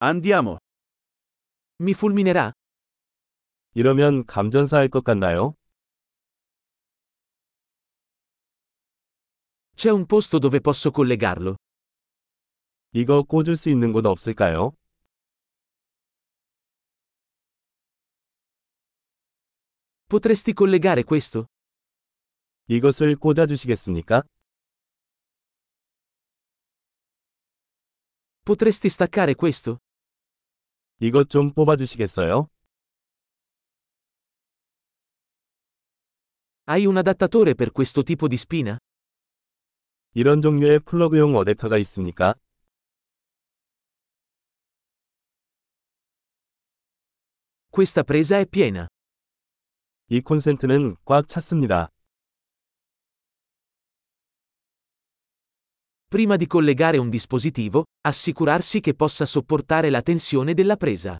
Andiamo. Mi fulminerà? 이러면 감전사할 것 같나요? C'è un posto dove posso collegarlo? 이거 꽂을 수 있는 곳 없을까요? Potresti collegare questo? 이것을 꽂아주시겠습니까? Potresti staccare questo? 이것 좀 뽑아주시겠어요? Hai un adattatore per questo tipo di spina? 이런 종류의 플러그용 어댑터가 있습니까? Questa presa è piena. 이 콘센트는 꽉 찼습니다. Prima di collegare un dispositivo, assicurarsi che possa sopportare la tensione della presa.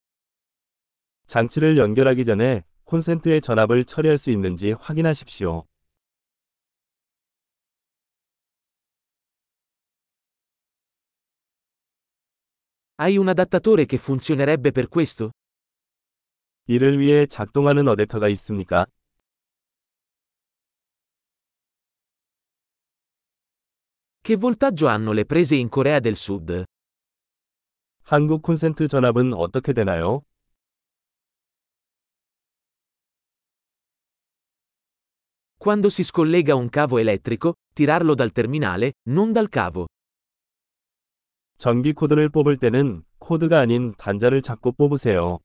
장치를 연결하기 전에 콘센트의 전압을 처리할 수 있는지 확인하십시오. Hai un adattatore che funzionerebbe per questo? 이를 위해 작동하는 어댑터가 있습니까? Che voltaggio hanno le prese in Corea del Sud? 한국 콘센트 전압은 어떻게 되나요? Quando si scollega un cavo elettrico, tirarlo dal terminale, non dal cavo. 전기 코드를 뽑을 때는 코드가 아닌 단자를 잡고 뽑으세요.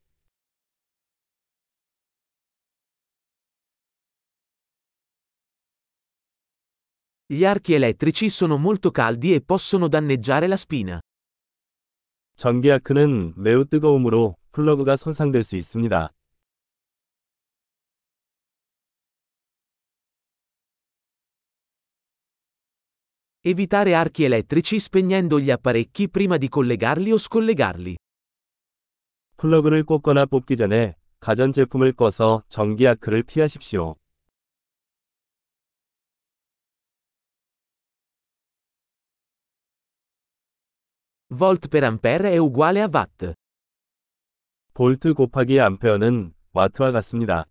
Gli archi elettrici sono molto caldi e possono danneggiare la spina. 전기 아크는 매우 뜨거움으로 플러그가 손상될 수 있습니다. Evitare archi elettrici spegnendo gli apparecchi prima di collegarli o scollegarli. 플러그를 꽂거나 뽑기 전에 가전제품을 꺼서 전기 아크를 피하십시오. Volt per ampere è uguale a watt. 볼트 곱하기 암페어는 와트와 같습니다.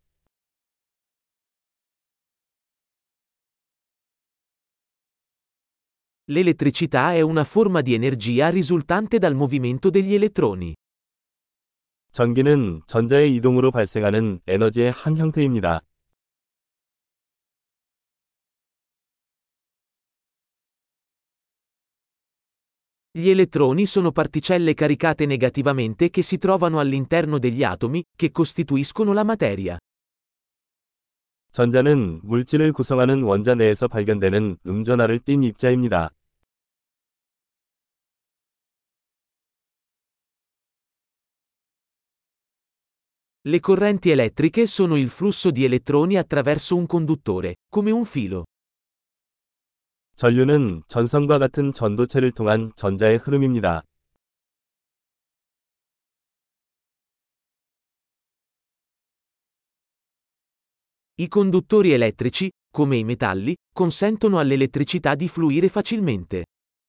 L'elettricità è una forma di energia risultante dal movimento degli elettroni. 전기는 전자의 이동으로 발생하는 에너지의 한 형태입니다. Gli elettroni sono particelle caricate negativamente che si trovano all'interno degli atomi, che costituiscono la materia. 전자는 물질을 구성하는 원자 내에서 발견되는 음전하를 띤 입자입니다. Le correnti elettriche sono il flusso di elettroni attraverso un conduttore, come un filo. 전류는 전선과 같은 전도체를 통한 전자의 흐름입니다. I conduttori elettrici, come i metalli, consentono all'elettricità di fluire facilmente.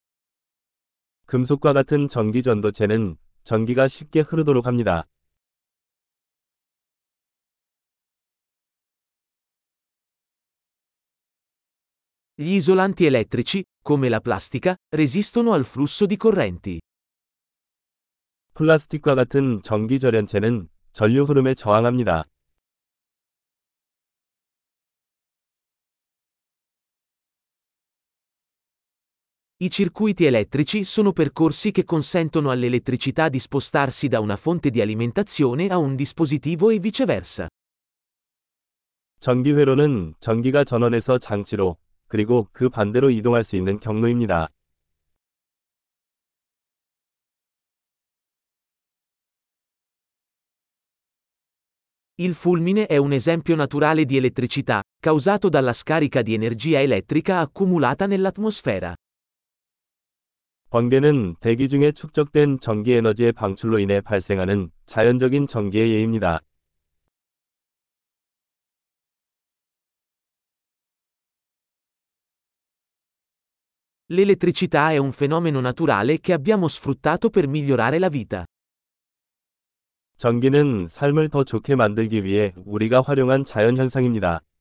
금속과 같은 전기 전도체는 전기가 쉽게 흐르도록 합니다. Gli isolanti elettrici, come la plastica, resistono al flusso di correnti. 플라스틱과 같은 전기 절연체는 전류 흐름에 저항합니다. I circuiti elettrici sono percorsi che consentono all'elettricità di spostarsi da una fonte di alimentazione a un dispositivo e viceversa. 전기 회로는 전기가 전원에서 장치로 그리고 그 반대로 이동할 수 있는 경로입니다. Il fulmine è un esempio naturale di elettricità, causato dalla scarica di energia elettrica accumulata nell'atmosfera. 번개는 대기 중에 축적된 전기 에너지의 방출로 인해 발생하는 자연적인 전기의 예입니다. L'elettricità è un fenomeno naturale che abbiamo sfruttato per migliorare la vita. 전기는 삶을 더 좋게 만들기 위해 우리가 활용한 자연현상입니다.